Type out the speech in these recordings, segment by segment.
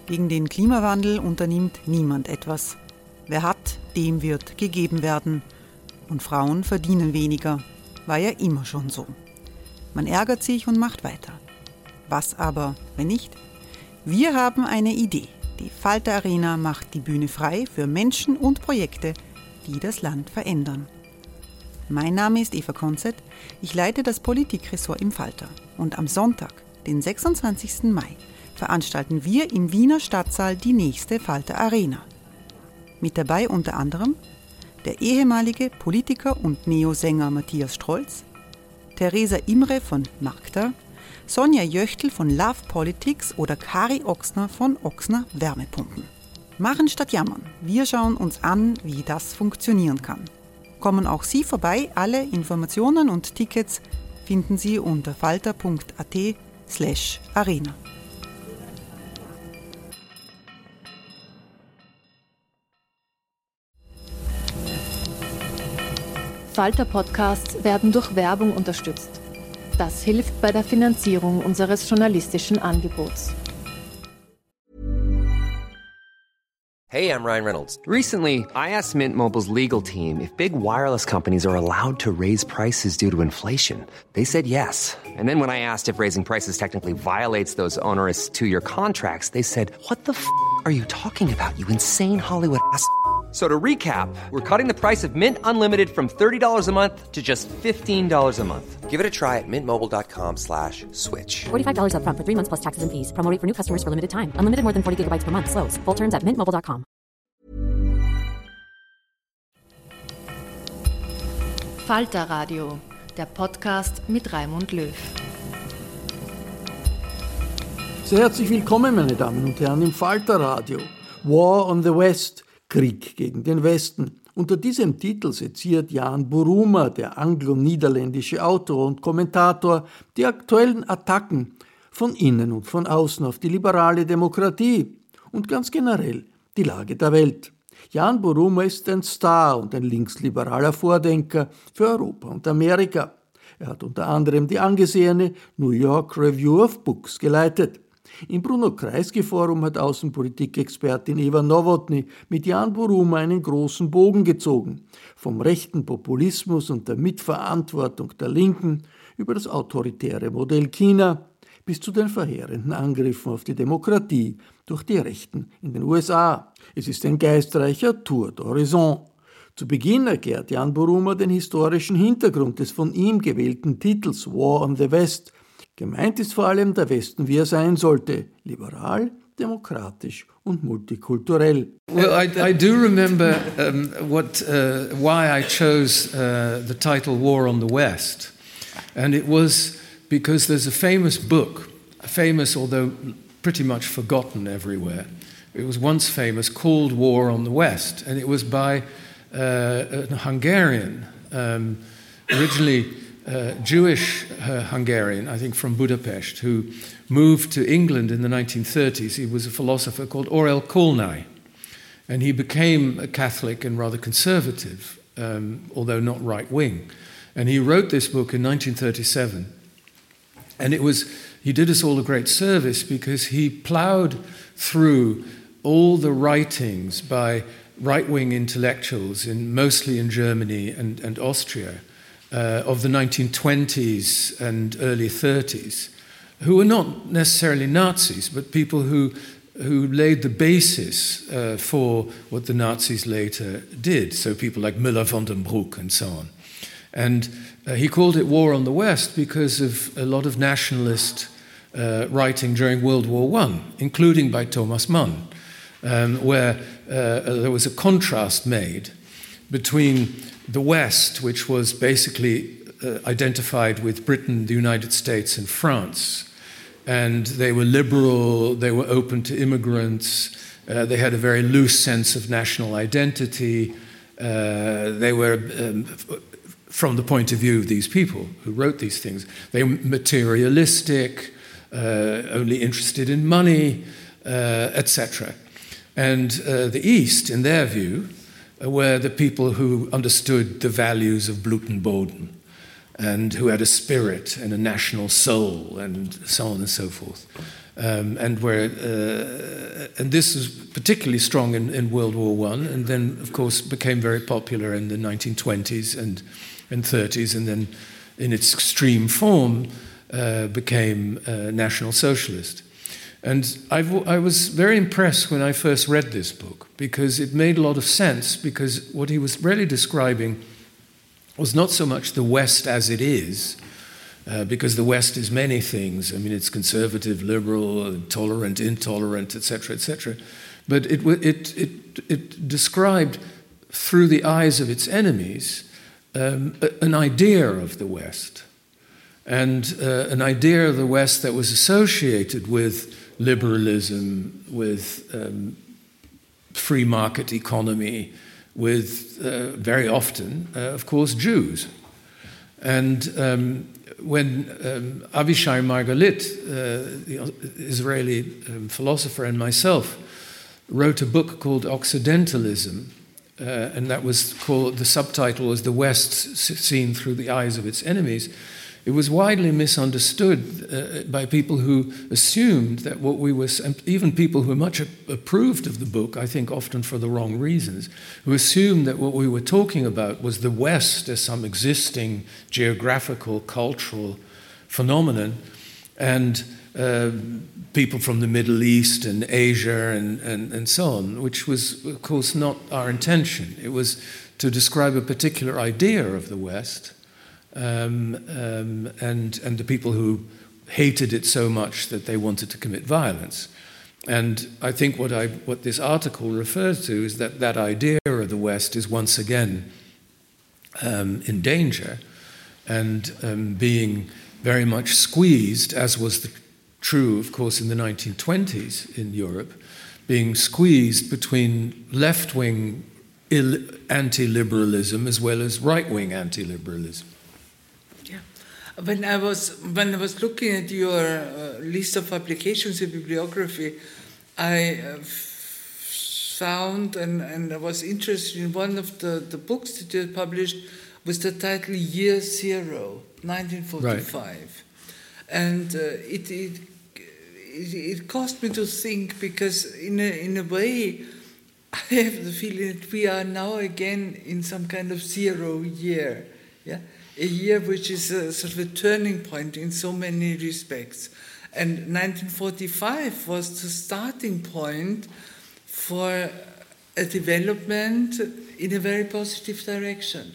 Gegen den Klimawandel unternimmt niemand etwas. Wer hat, dem wird gegeben werden. Und Frauen verdienen weniger. War ja immer schon so. Man ärgert sich und macht weiter. Was aber, wenn nicht? Wir haben eine Idee. Die Falter Arena macht die Bühne frei für Menschen und Projekte, die das Land verändern. Mein Name ist Eva Konzett. Ich leite das Politikressort im Falter. Und am Sonntag, den 26. Mai, veranstalten wir im Wiener Stadtsaal die nächste Falter Arena. Mit dabei unter anderem der ehemalige Politiker und Neosänger Matthias Strolz, Theresa Imre von Magda, Sonja Jöchtl von Love Politics oder Kari Ochsner von Ochsner Wärmepumpen. Machen statt jammern. Wir schauen uns an, wie das funktionieren kann. Kommen auch Sie vorbei. Alle Informationen und Tickets finden Sie unter falter.at/arena. Falter-Podcasts werden durch Werbung unterstützt. Das hilft bei der Finanzierung unseres journalistischen Angebots. Hey, I'm Ryan Reynolds. Recently, I asked Mint Mobile's legal team if big wireless companies are allowed to raise prices due to inflation. They said yes. And then when I asked if raising prices technically violates those onerous two-year contracts, they said, "What the f*** are you talking about, you insane Hollywood ass?" So to recap, we're cutting the price of Mint Unlimited from $30 a month to just $15 a month. Give it a try at mintmobile.com/switch. $45 up front for 3 months plus taxes and fees. Promo rate for new customers for limited time. Unlimited more than 40 gigabytes per month. Slows full terms at mintmobile.com. Falter Radio, der Podcast mit Raimund Löw. Sehr herzlich willkommen, meine Damen und Herren, im Falter Radio. War on the West, Krieg gegen den Westen. Unter diesem Titel seziert Jan Buruma, der anglo-niederländische Autor und Kommentator, die aktuellen Attacken von innen und von außen auf die liberale Demokratie und ganz generell die Lage der Welt. Jan Buruma ist ein Star und ein linksliberaler Vordenker für Europa und Amerika. Er hat unter anderem die angesehene New York Review of Books geleitet. Im Bruno-Kreisky-Forum hat Außenpolitikexpertin Eva Nowotny mit Jan Buruma einen großen Bogen gezogen. Vom rechten Populismus und der Mitverantwortung der Linken über das autoritäre Modell China bis zu den verheerenden Angriffen auf die Demokratie durch die Rechten in den USA. Es ist ein geistreicher Tour d'Horizon. Zu Beginn erklärt Jan Buruma den historischen Hintergrund des von ihm gewählten Titels War on the West. Gemeint ist vor allem der Westen, wie er sein sollte, liberal, demokratisch und multikulturell. Well, I do remember why I chose the title War on the West. And it was because there's a famous book, famous although pretty much forgotten everywhere. It was once famous, called War on the West, and it was by a Hungarian, originally Jewish Hungarian, I think from Budapest, who moved to England in the 1930s. He was a philosopher called Orel Kolnay, and he became a Catholic and rather conservative, although not right-wing. And he wrote this book in 1937, and he did us all a great service because he ploughed through all the writings by right-wing intellectuals, mostly in Germany and Austria, of the 1920s and early 30s, who were not necessarily Nazis, but people who laid the basis for what the Nazis later did, so people like Müller von den Bruck and so on. And he called it War on the West because of a lot of nationalist writing during World War I, including by Thomas Mann, where there was a contrast made between the West, which was basically identified with Britain, the United States, and France. And they were liberal, they were open to immigrants, they had a very loose sense of national identity. They were, from the point of view of these people who wrote these things, they were materialistic, only interested in money, etc. And the East, in their view, were the people who understood the values of Blut und Boden and who had a spirit and a national soul and so on and so forth, and were this was particularly strong in World War I, and then, of course, became very popular in the 1920s and 30s, and then in its extreme form became National Socialist. And I was very impressed when I first read this book, because it made a lot of sense, because what he was really describing was not so much the West as it is, because the West is many things. I mean, it's conservative, liberal, tolerant, intolerant, etc., etc. But it described, through the eyes of its enemies, an idea of the West, and an idea of the West that was associated with liberalism, with free market economy, with very often, of course, Jews. And when Avishai Margalit, the Israeli philosopher, and myself wrote a book called Occidentalism, and that was called, the subtitle was The West Seen Through the Eyes of Its Enemies, it was widely misunderstood by people who assumed that what we were, and even people who much approved of the book, I think often for the wrong reasons, who assumed that what we were talking about was the West as some existing geographical, cultural phenomenon, and people from the Middle East and Asia and so on, which was, of course, not our intention. It was to describe a particular idea of the West, and the people who hated it so much that they wanted to commit violence. And I think what this article refers to is that idea of the West is once again in danger, and being very much squeezed, as was true, of course, in the 1920s in Europe, being squeezed between left-wing anti-liberalism as well as right-wing anti-liberalism. When I was looking at your list of publications in bibliography, I found and I was interested in one of the books that you had published with the title Year Zero, 1945. Right. And it caused me to think, because in a way I have the feeling that we are now again in some kind of zero year, yeah. A year which is a sort of a turning point in so many respects. And 1945 was the starting point for a development in a very positive direction.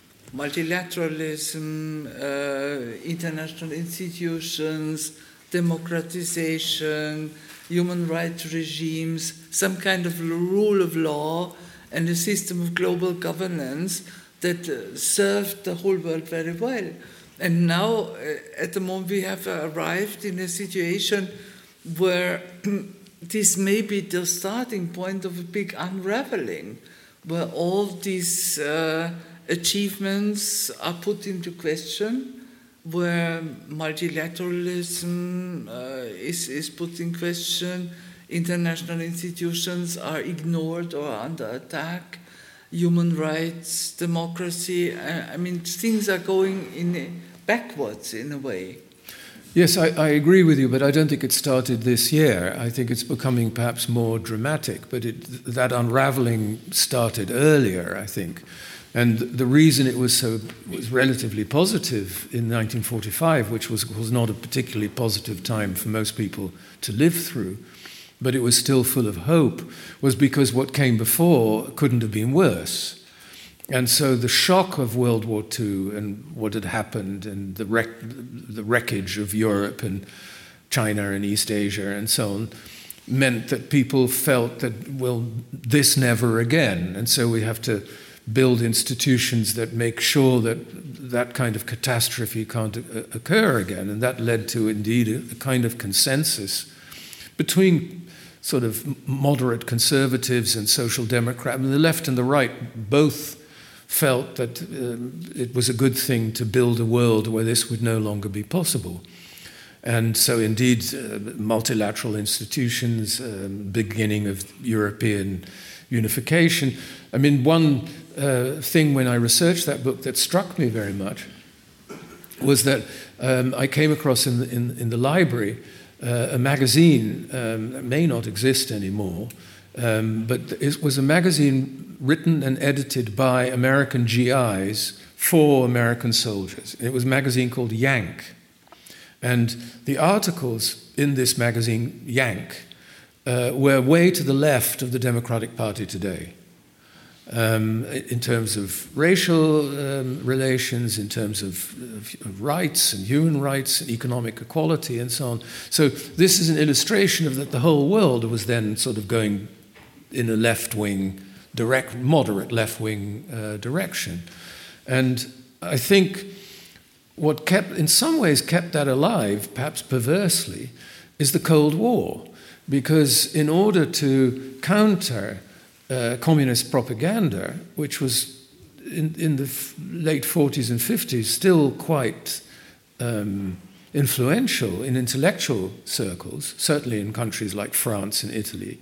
Multilateralism, international institutions, democratization, human rights regimes, some kind of rule of law, and a system of global governance that served the whole world very well. And now, at the moment, we have arrived in a situation where this may be the starting point of a big unraveling, where all these achievements are put into question, where multilateralism is put in question, international institutions are ignored or under attack, human rights, democracy. I mean, things are going backwards in a way. Yes, I agree with you, but I don't think it started this year. I think it's becoming perhaps more dramatic, but that unraveling started earlier, I think. And the reason it was relatively positive in 1945, which was not a particularly positive time for most people to live through, but it was still full of hope, was because what came before couldn't have been worse. And so the shock of World War II and what had happened, and the wreckage of Europe and China and East Asia and so on, meant that people felt that, well, this never again. And so we have to build institutions that make sure that that kind of catastrophe can't occur again. And that led to, indeed, a kind of consensus between sort of moderate conservatives and social democrats. I mean, the left and the right both felt that it was a good thing to build a world where this would no longer be possible. And so, indeed, multilateral institutions, beginning of European unification. I mean, one thing when I researched that book that struck me very much was that I came across in the library a magazine that may not exist anymore, but it was a magazine written and edited by American GIs for American soldiers. It was a magazine called Yank. And the articles in this magazine, Yank, were way to the left of the Democratic Party today. In terms of racial relations, in terms of rights and human rights and economic equality and so on. So this is an illustration of that the whole world was then sort of going in a left-wing, moderate left-wing direction. And I think what in some ways kept that alive, perhaps perversely, is the Cold War. Because in order to counter communist propaganda, which was in the late 40s and 50s still quite influential in intellectual circles, certainly in countries like France and Italy,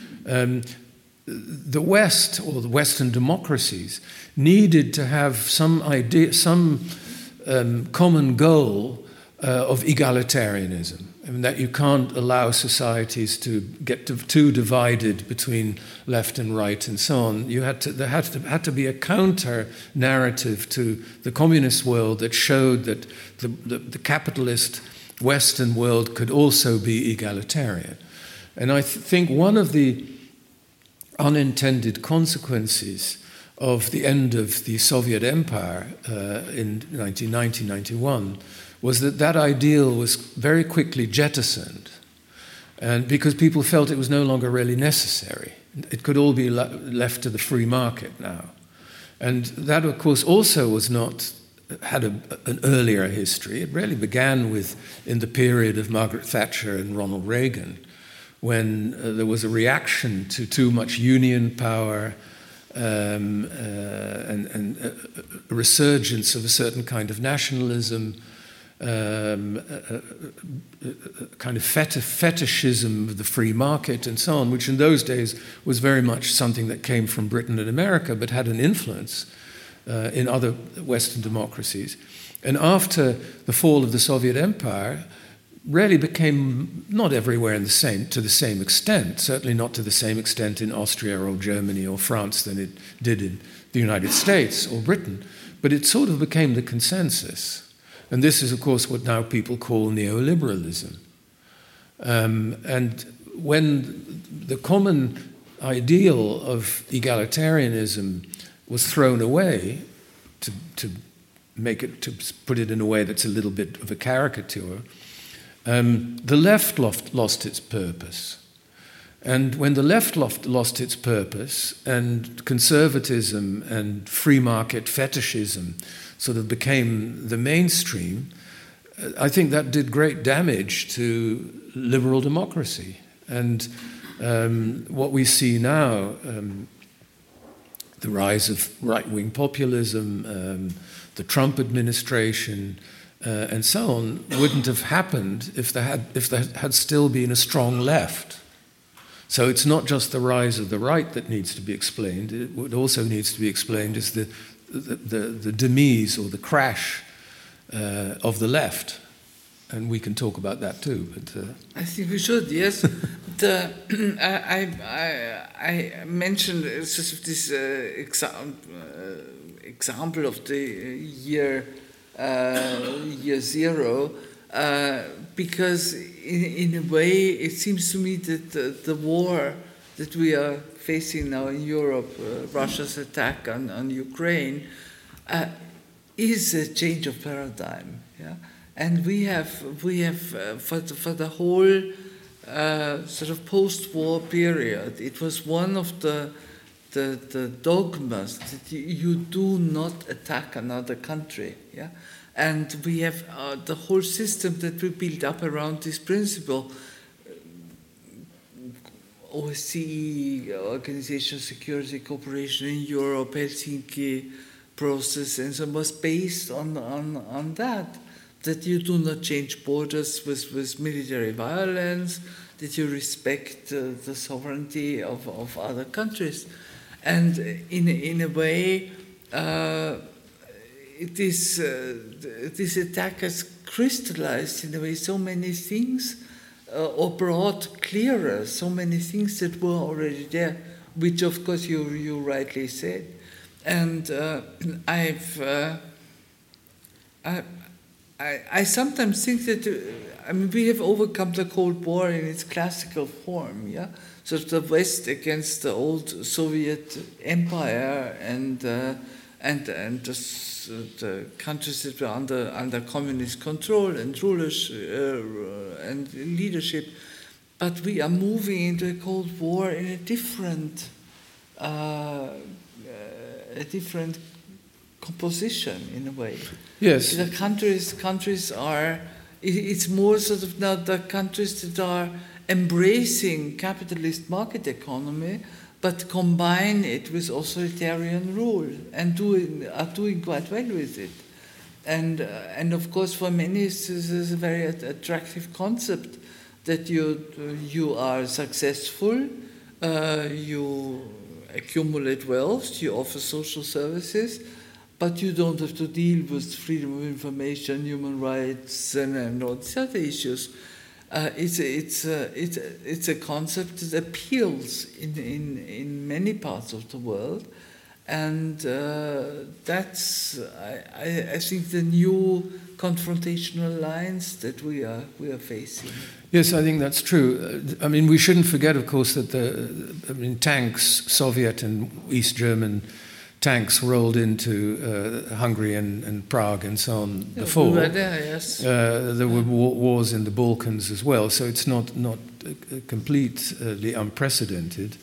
the West, or the Western democracies, needed to have some idea, some common goal of egalitarianism. I mean, that you can't allow societies to get too divided between left and right and so on. There had to be a counter narrative to the communist world that showed that the capitalist Western world could also be egalitarian. And I think one of the unintended consequences of the end of the Soviet Empire in 1990-91 was that ideal was very quickly jettisoned, and because people felt it was no longer really necessary. It could all be left to the free market now. And that, of course, also had an earlier history. It really began in the period of Margaret Thatcher and Ronald Reagan, when there was a reaction to too much union power and a resurgence of a certain kind of nationalism, kind of fetishism of the free market and so on, which in those days was very much something that came from Britain and America, but had an influence in other Western democracies. And after the fall of the Soviet Empire, really became not everywhere to the same extent, certainly not to the same extent in Austria or Germany or France than it did in the United States or Britain, but it sort of became the consensus. And this is, of course, what now people call neoliberalism. And when the common ideal of egalitarianism was thrown away, to put it in a way that's a little bit of a caricature, the left lost its purpose. And when the left lost its purpose, and conservatism and free market fetishism sort of became the mainstream, I think that did great damage to liberal democracy. And what we see now, the rise of right-wing populism, the Trump administration, and so on, wouldn't have happened if there had still been a strong left. So it's not just the rise of the right that needs to be explained. What also needs to be explained is the demise or the crash of the left. And we can talk about that too. But I think we should, yes. I mentioned sort of this example of the year zero, because in a way it seems to me that the war that we are facing now in Europe, Russia's attack on Ukraine, is a change of paradigm. Yeah, and we have for the whole sort of post-war period, it was one of the dogmas that you do not attack another country. Yeah, and we have the whole system that we built up around this principle. OSCE, Organization of Security Cooperation in Europe, Helsinki process, and so on, was based on that you do not change borders with military violence, that you respect the sovereignty of other countries. And in a way, this attack has crystallized in a way so many things or brought clearer so many things that were already there, which of course you rightly said. And I sometimes think that we have overcome the Cold War in its classical form, yeah. So the West against the old Soviet Empire and the countries that were under communist control and rulers and leadership, but we are moving into a Cold War in a different composition in a way. Yes. The countries are. It's more sort of now the countries that are embracing capitalist market economy, but combine it with authoritarian rule and are doing quite well with it. And of course, for many, this is a very attractive concept that you are successful, you accumulate wealth, you offer social services, but you don't have to deal with freedom of information, human rights, and all these other issues. It's a concept that appeals in many parts of the world, and that's I think the new confrontational lines that we are facing. Yes, I think that's true. I mean, we shouldn't forget, of course, that tanks, Soviet and East German tanks rolled into Hungary and Prague and so on before. We were there, yes. There were wars in the Balkans as well, so it's not completely unprecedented.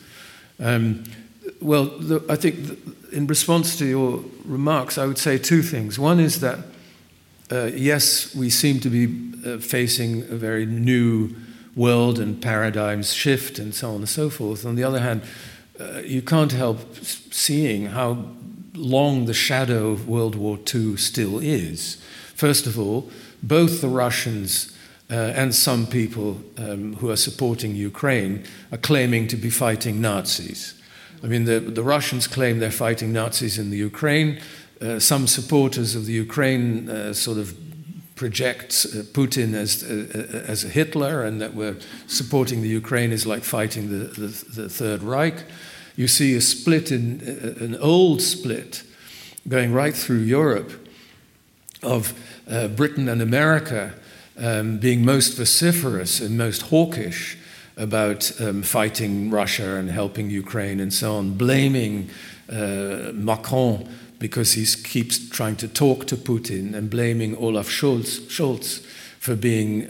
I think in response to your remarks, I would say two things. One is that, yes, we seem to be facing a very new world and paradigms shift and so on and so forth. On the other hand, you can't help seeing how long the shadow of World War II still is. First of all, both the Russians and some people who are supporting Ukraine are claiming to be fighting Nazis. I mean, the Russians claim they're fighting Nazis in the Ukraine. Some supporters of the Ukraine sort of project Putin as a Hitler, and that we're supporting the Ukraine is like fighting the Third Reich. You see a split, an old split, going right through Europe of Britain and America being most vociferous and most hawkish about fighting Russia and helping Ukraine and so on, blaming Macron because he keeps trying to talk to Putin, and blaming Olaf Scholz for being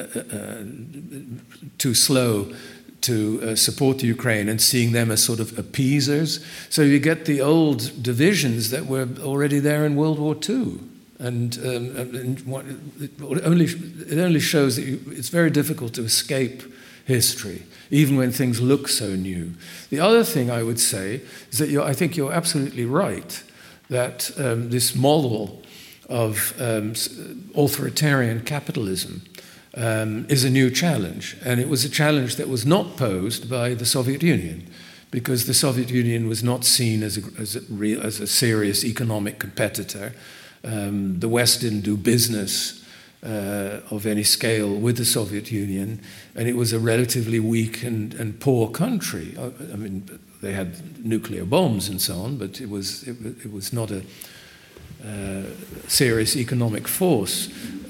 too slow to support Ukraine, and seeing them as sort of appeasers. So you get the old divisions that were already there in World War II. And it only shows that it's very difficult to escape history, even when things look so new. The other thing I would say is that I think you're absolutely right that this model of authoritarian capitalism is a new challenge. And it was a challenge that was not posed by the Soviet Union, because the Soviet Union was not seen as a serious economic competitor. The West didn't do business of any scale with the Soviet Union, and it was a relatively weak and poor country. I mean, they had nuclear bombs and so on, but it was not a serious economic force.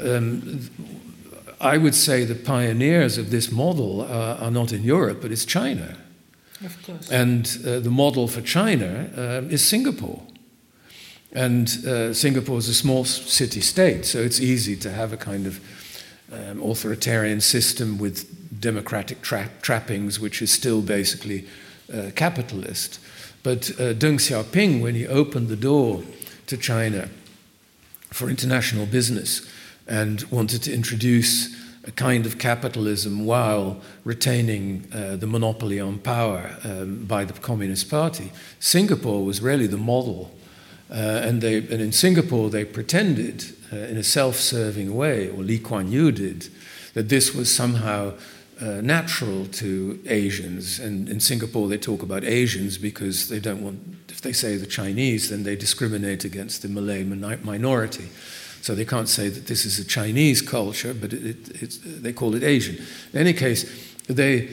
I would say the pioneers of this model are not in Europe, but it's China. Of course. And the model for China is Singapore. And Singapore is a small city-state, so it's easy to have a kind of authoritarian system with democratic trappings, which is still basically capitalist. But Deng Xiaoping, when he opened the door to China for international business and wanted to introduce a kind of capitalism while retaining the monopoly on power by the Communist Party, Singapore was really the model. And in Singapore, they pretended in a self-serving way, or Lee Kuan Yew did, that this was somehow natural to Asians. And in Singapore, they talk about Asians because they don't want, if they say the Chinese, then they discriminate against the Malay minority. So they can't say that this is a Chinese culture, but they call it Asian. In any case, they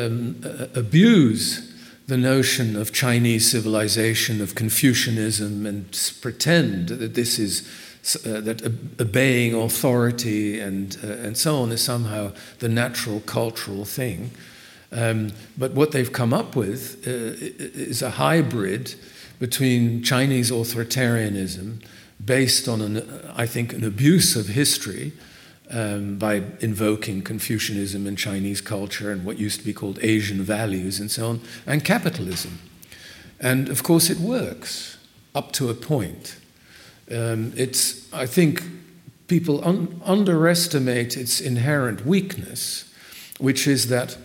abuse the notion of Chinese civilization, of Confucianism, and pretend that this is that obeying authority and so on is somehow the natural cultural thing. But what they've come up with is a hybrid between Chinese authoritarianism based on, I think, an abuse of history by invoking Confucianism and Chinese culture and what used to be called Asian values and so on, and capitalism. And of course it works up to a point. I think people underestimate its inherent weakness, which is that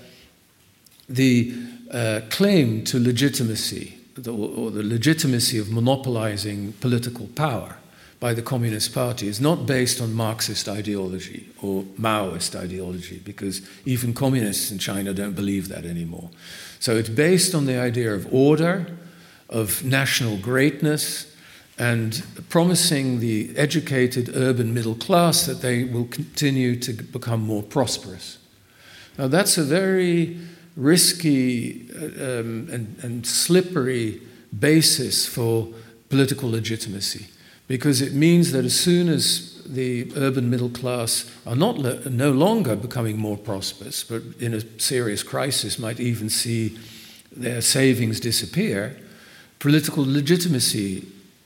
the claim to legitimacy, or the legitimacy of monopolizing political power by the Communist Party is not based on Marxist ideology or Maoist ideology, because even communists in China don't believe that anymore. So it's based on the idea of order, of national greatness, and promising the educated urban middle class that they will continue to become more prosperous. Now that's a very risky and slippery basis for political legitimacy, because it means that as soon as the urban middle class are no longer becoming more prosperous, but in a serious crisis might even see their savings disappear, political legitimacy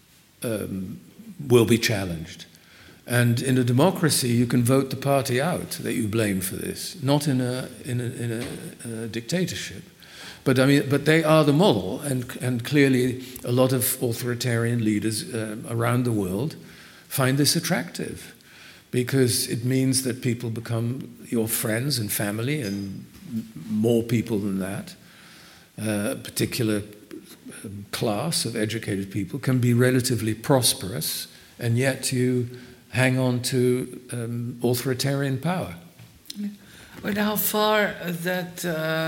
will be challenged. And in a democracy, you can vote the party out that you blame for this, not in a dictatorship. But they are the model, and clearly a lot of authoritarian leaders around the world find this attractive, because it means that people become your friends and family, and more people than that. A particular class of educated people can be relatively prosperous, and yet you hang on to authoritarian power. But how far that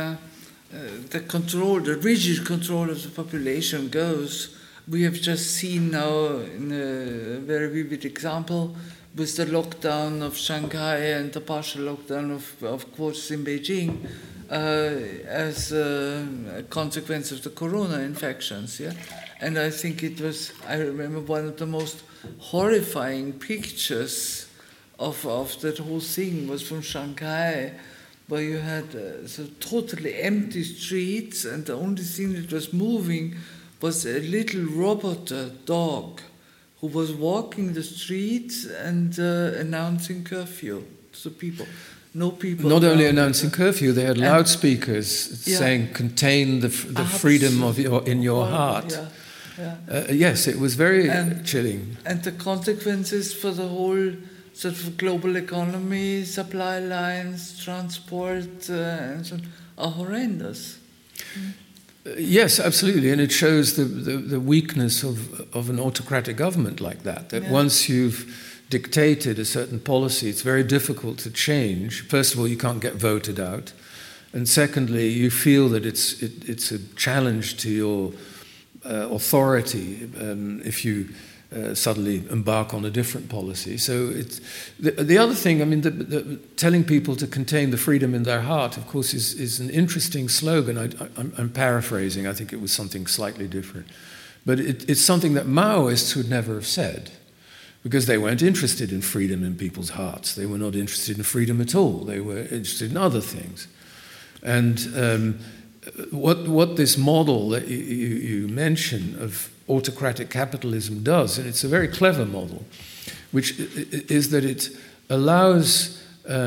the rigid control of the population goes, we have just seen now in a very vivid example with the lockdown of Shanghai and the partial lockdown of course in Beijing as a consequence of the corona infections. Yeah? And I think I remember one of the most horrifying pictures of that whole thing was from Shanghai, where you had totally empty streets, and the only thing that was moving was a little robot dog who was walking the streets and announcing curfew to people. No people. Not only announcing curfew, they had loudspeakers saying, "Contain the freedom in your heart." Yeah. Yes, it was very chilling. And the consequences for the whole sort of global economy, supply lines, transport, and so on, are horrendous. Yes, absolutely, and it shows the weakness of an autocratic government like that. That once you've dictated a certain policy, it's very difficult to change. First of all, you can't get voted out, and secondly, you feel that it's a challenge to your authority if you suddenly embark on a different policy. So it's the other thing. I mean, telling people to contain the freedom in their heart, of course, is an interesting slogan. I'm paraphrasing. I think it was something slightly different, but it's something that Maoists would never have said, because they weren't interested in freedom in people's hearts. They were not interested in freedom at all. They were interested in other things, and what this model that you mention of autocratic capitalism does, and it's a very clever model, which is that it allows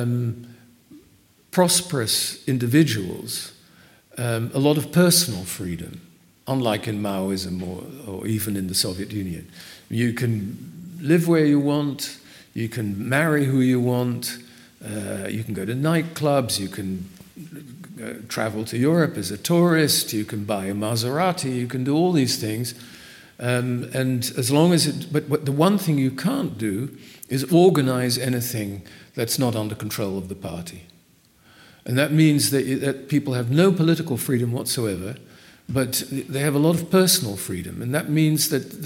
prosperous individuals a lot of personal freedom, unlike in Maoism or even in the Soviet Union. You can live where you want, you can marry who you want, you can go to nightclubs, you can travel to Europe as a tourist, you can buy a Maserati, you can do all these things. And as long as but the one thing you can't do is organize anything that's not under control of the party. And that means that people have no political freedom whatsoever. but they have a lot of personal freedom, and that means that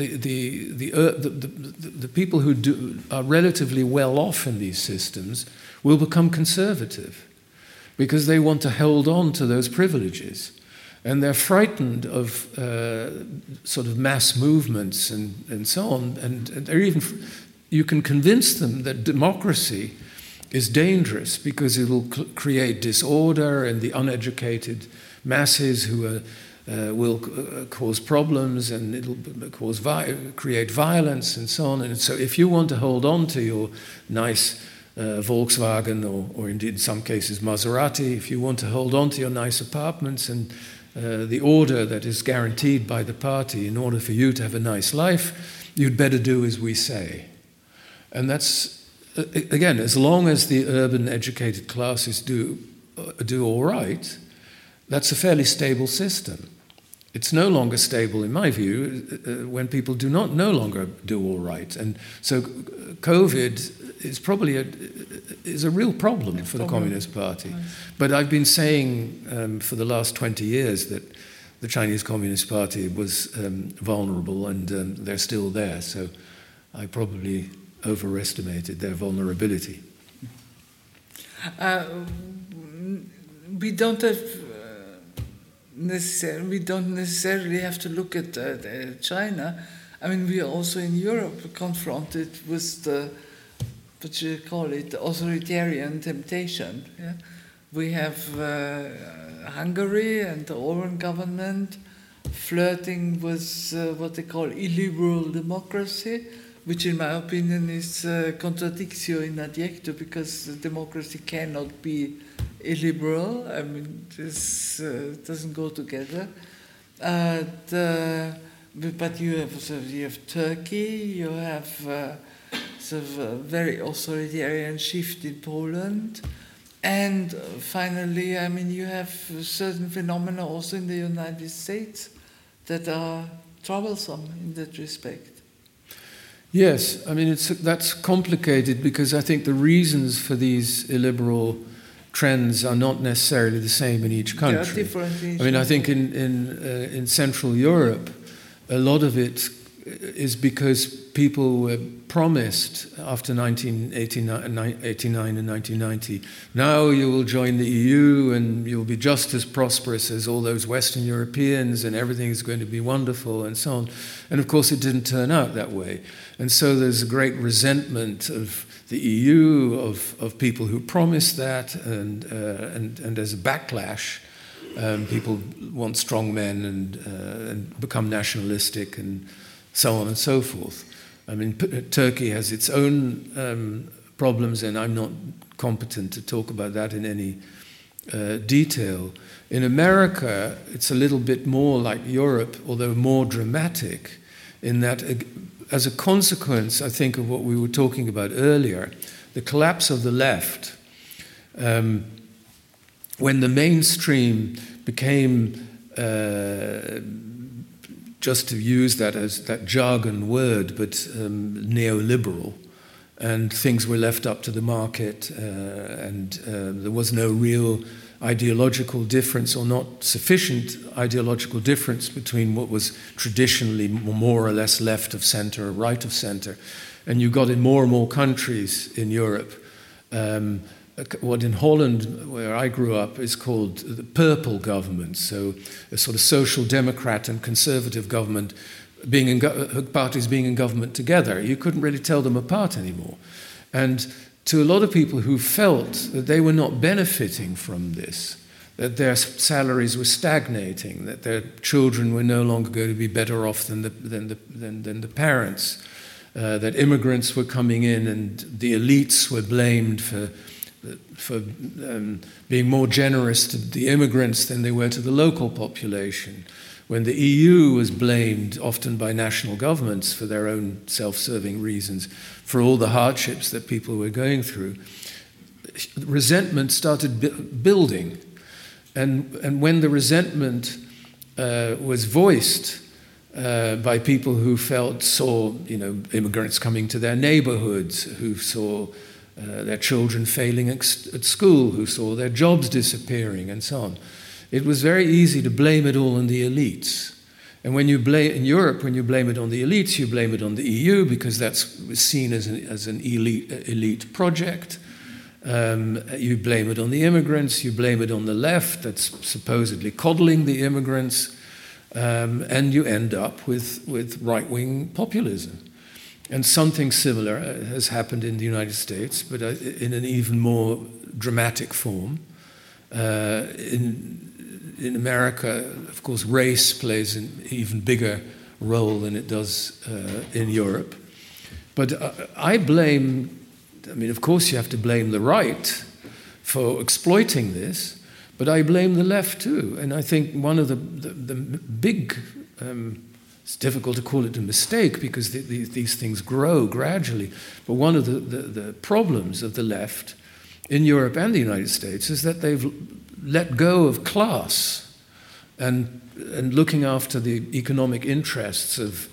the people who are relatively well off in these systems will become conservative because they want to hold on to those privileges, and they're frightened of sort of mass movements and so on, and they're even you can convince them that democracy is dangerous because it will create disorder, and the uneducated masses who will cause problems, and it'll create violence and so on. And so if you want to hold on to your nice Volkswagen or indeed in some cases Maserati, if you want to hold on to your nice apartments and the order that is guaranteed by the party in order for you to have a nice life, you'd better do as we say. And that's, again, as long as the urban educated classes do all right, that's a fairly stable system. It's no longer stable, in my view, when people do not no longer do all right. And so COVID is probably a real problem for the Communist Party. But I've been saying for the last 20 years that the Chinese Communist Party was vulnerable, and they're still there. So I probably overestimated their vulnerability. We don't necessarily have to look at China. I mean, we are also in Europe confronted with the authoritarian temptation. Yeah? We have Hungary and the Orban government flirting with what they call illiberal democracy, which in my opinion is contradictio in adjecto, because democracy cannot be illiberal. I mean, this doesn't go together. But you have Turkey, you have sort of a very authoritarian shift in Poland, and finally, I mean, you have certain phenomena also in the United States that are troublesome in that respect. Yes, I mean, that's complicated because I think the reasons for these illiberal trends are not necessarily the same in each country. They are different in each I mean, I think in Central Europe, a lot of it is because people were promised after 1989 and 1990, now you will join the EU and you'll be just as prosperous as all those Western Europeans and everything is going to be wonderful and so on. And of course it didn't turn out that way. And so there's a great resentment of the EU, of people who promised that, and as a backlash, people want strong men and become nationalistic and so on and so forth. I mean, Turkey has its own problems, and I'm not competent to talk about that in any detail. In America, it's a little bit more like Europe, although more dramatic, in that as a consequence, I think, of what we were talking about earlier, the collapse of the left, when the mainstream became, just to use that as that jargon word, but neoliberal, and things were left up to the market, and there was no real ideological difference, or not sufficient ideological difference, between what was traditionally more or less left of center or right of center. And you got in more and more countries in Europe what in Holland, where I grew up, is called the purple government, so a sort of social democrat and conservative government parties being in government together. You couldn't really tell them apart anymore. And to a lot of people who felt that they were not benefiting from this, that their salaries were stagnating, that their children were no longer going to be better off than the parents, that immigrants were coming in and the elites were blamed for being more generous to the immigrants than they were to the local population, when the EU was blamed often by national governments for their own self-serving reasons for all the hardships that people were going through. Resentment started building, and when the resentment was voiced by people who saw immigrants coming to their neighborhoods, who saw their children failing at school, who saw their jobs disappearing, and so on. it was very easy to blame it all on the elites. And when you blame in Europe, when you blame it on the elites, you blame it on the EU because that's seen as an elite project. You blame it on the immigrants. You blame it on the left that's supposedly coddling the immigrants, and you end up with right-wing populism. And something similar has happened in the United States, but in an even more dramatic form. In America, of course, race plays an even bigger role than it does in Europe. But I mean, of course you have to blame the right for exploiting this, but I blame the left too. And I think one of the big, it's difficult to call it a mistake because these things grow gradually, but one of the problems of the left in Europe and the United States is that they've let go of class and looking after the economic interests of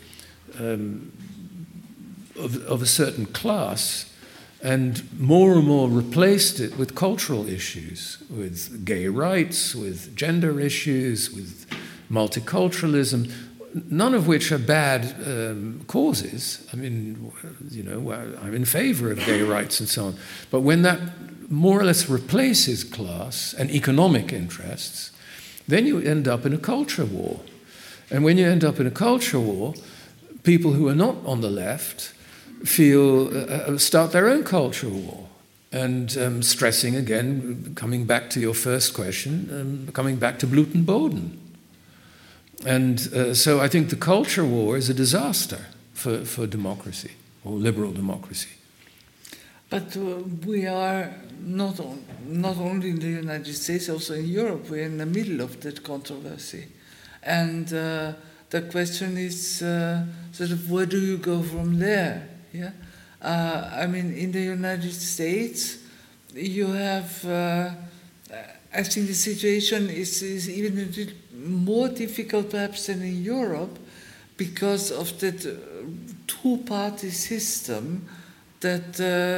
a certain class, and more replaced it with cultural issues, with gay rights, with gender issues, with multiculturalism, none of which are bad causes. I mean, I'm in favor of gay rights and so on. But when that more or less replaces class and economic interests, then you end up in a culture war. And when you end up in a culture war, people who are not on the left start their own culture war. And stressing again, coming back to your first question, coming back to Blutenboden. And so I think the culture war is a disaster for democracy, or liberal democracy. But we are not only in the United States, also in Europe, we're in the middle of that controversy. And the question is sort of where do you go from there? Yeah, I mean, in the United States, you have, I think the situation is even a little more difficult perhaps than in Europe because of that two-party system that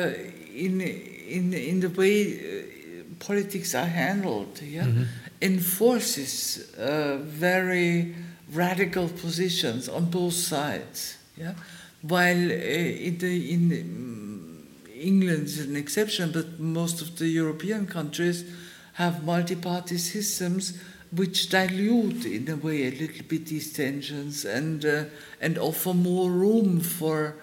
in the way politics are handled, enforces very radical positions on both sides. Yeah, while in England is an exception, but most of the European countries have multi-party systems which dilute, in a way, a little bit these tensions and offer more room for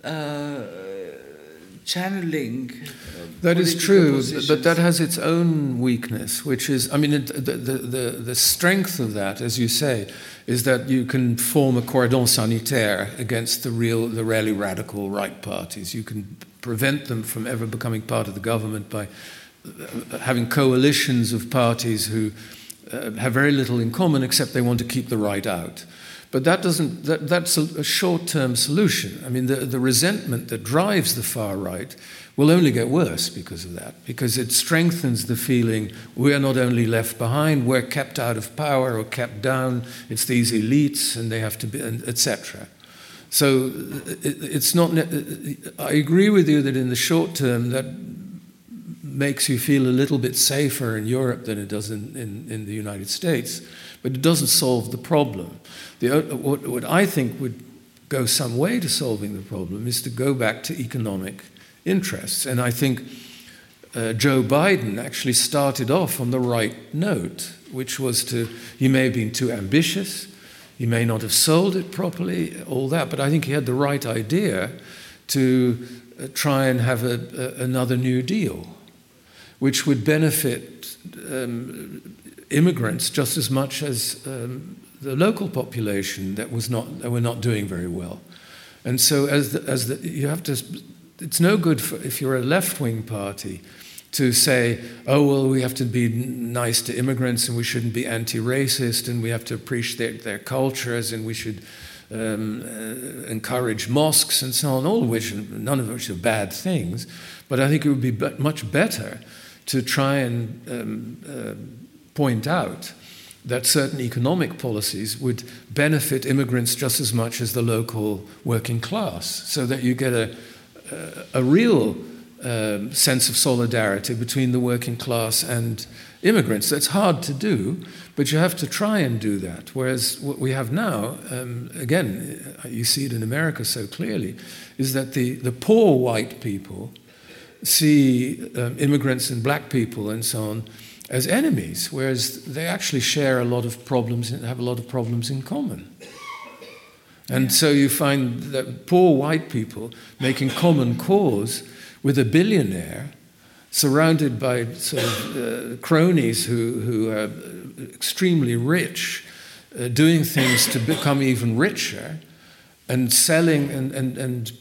channeling. That is true, positions. But that has its own weakness, which is, I mean, the strength of that, as you say, is that you can form a cordon sanitaire against the really radical right parties. You can prevent them from ever becoming part of the government by having coalitions of parties who have very little in common except they want to keep the right out. But that's a short-term solution. I mean, the resentment that drives the far right will only get worse because of that, because it strengthens the feeling we are not only left behind, we're kept out of power or kept down, it's these elites and they have to be, etc. So it's not, I agree with you that in the short term that makes you feel a little bit safer in Europe than it does in the United States, but it doesn't solve the problem. What I think would go some way to solving the problem is to go back to economic interests. And I think Joe Biden actually started off on the right note, which was he may have been too ambitious, he may not have sold it properly, all that, but I think he had the right idea to try and have another New Deal, which would benefit immigrants just as much as the local population that were not doing very well. And so you have to, it's no good if you're a left-wing party to say, oh, well, we have to be nice to immigrants and we shouldn't be anti-racist and we have to appreciate their cultures and we should encourage mosques and so on, all of which, none of which are bad things. But I think it would be much better to try and point out that certain economic policies would benefit immigrants just as much as the local working class, so that you get a real sense of solidarity between the working class and immigrants. That's hard to do, but you have to try and do that. Whereas what we have now, again, you see it in America so clearly, is that the poor white people see immigrants and black people and so on as enemies, whereas they actually share a lot of problems and have a lot of problems in common. And so you find that poor white people making common cause with a billionaire surrounded by sort of cronies who are extremely rich, doing things to become even richer, and selling and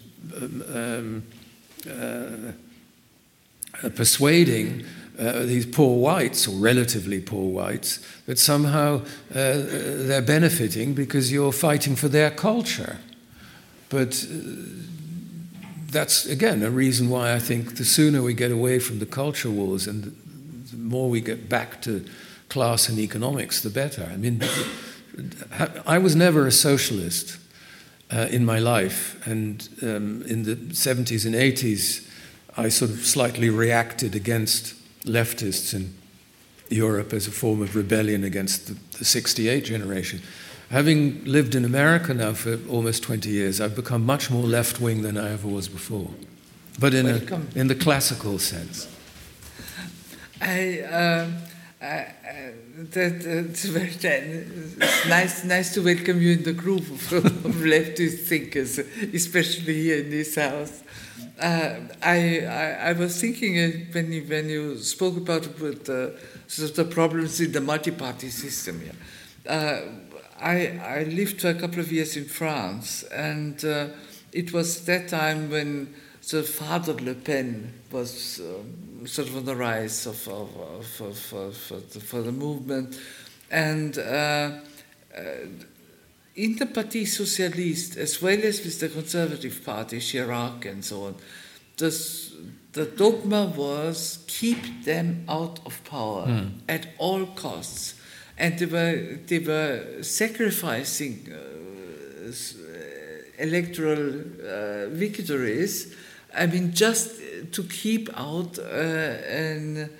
persuading these poor whites, or relatively poor whites, that somehow they're benefiting because you're fighting for their culture. But that's, again, a reason why I think the sooner we get away from the culture wars and the more we get back to class and economics, the better. I mean, I was never a socialist in my life, and in the 70s and 80s, I sort of slightly reacted against leftists in Europe as a form of rebellion against the 68 generation. Having lived in America now for almost 20 years, I've become much more left-wing than I ever was before, but in the classical sense. It's very nice to welcome you in the group of leftist thinkers, especially here in this house. I was thinking when you spoke about sort of the problems in the multi-party system. I lived for a couple of years in France, and it was that time when the Father Le Pen was sort of on the rise for the movement, and in the Parti Socialiste, as well as with the Conservative Party, Chirac and so on, the dogma was keep them out of power at all costs. And they were sacrificing electoral victories, I mean, just to keep out a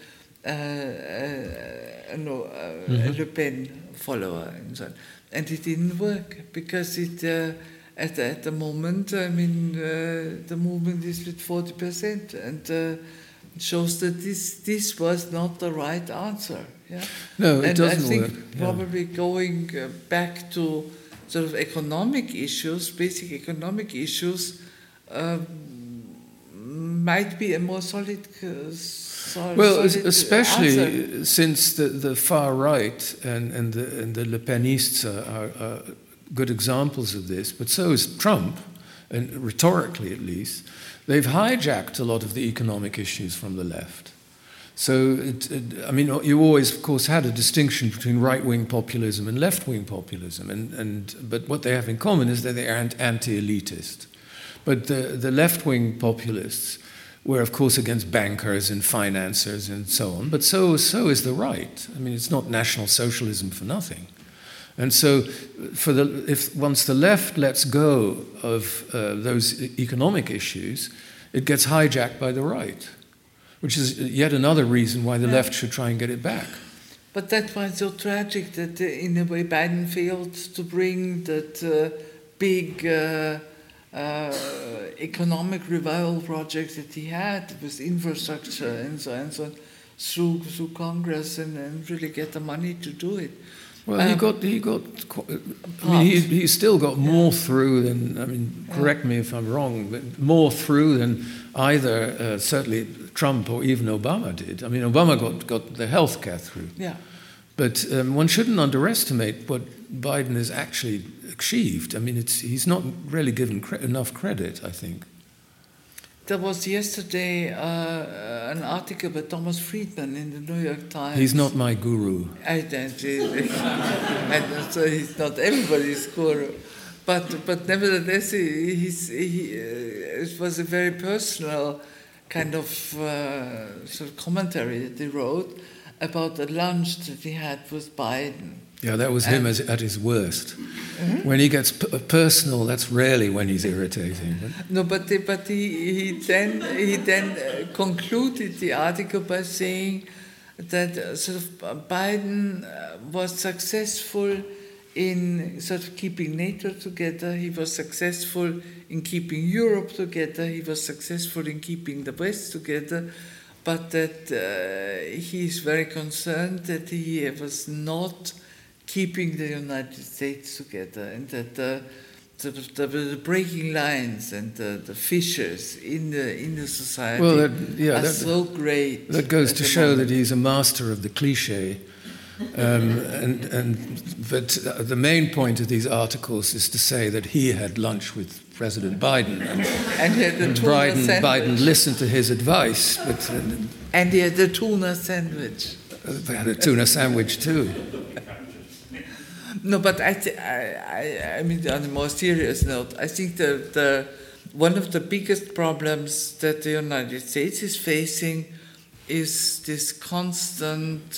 Le Pen follower and so on. And it didn't work because at the moment, I mean, the movement is with 40%, and shows that this was not the right answer. Yeah? No, it doesn't work. And I think probably going back to sort of economic issues, basic economic issues, might be a more solid especially answer. Since the far right and the Le Penists are good examples of this, but so is Trump, and rhetorically at least. They've hijacked a lot of the economic issues from the left. So, I mean, you always, of course, had a distinction between right-wing populism and left-wing populism, but what they have in common is that they are anti-elitist. But the left-wing populists were, of course, against bankers and financiers and so on, but so is the right. I mean, it's not National Socialism for nothing. And so, once the left lets go of those economic issues, it gets hijacked by the right, which is yet another reason why the left should try and get it back. But that's why it's so tragic that, in a way, Biden failed to bring that big economic revival project that he had with infrastructure and so on through Congress and really get the money to do it. Well, he still got more through than, I mean, correct me if I'm wrong, but more through than either certainly Trump or even Obama did. I mean, Obama got the health care through. Yeah. But one shouldn't underestimate what Biden has actually achieved. I mean, he's not really given enough credit, I think. There was yesterday an article by Thomas Friedman in the New York Times. He's not my guru. And so he's not everybody's guru. But nevertheless, it was a very personal kind of sort of commentary that he wrote about the lunch that he had with Biden. Yeah, that was him at his worst. Mm-hmm. When he gets personal, that's rarely when he's irritating. No, but he then concluded the article by saying, that sort of Biden was successful in sort of keeping NATO together. He was successful in keeping Europe together. He was successful in keeping the West together. But that he is very concerned that he was not keeping the United States together, and that the breaking lines and the fissures in the society are so great. That goes to show that he's a master of the cliche. But the main point of these articles is to say that he had lunch with President Biden, and Biden listened to his advice. And he had the tuna sandwich. They had a tuna sandwich too. No, but I mean, on a more serious note, I think the one of the biggest problems that the United States is facing is this constant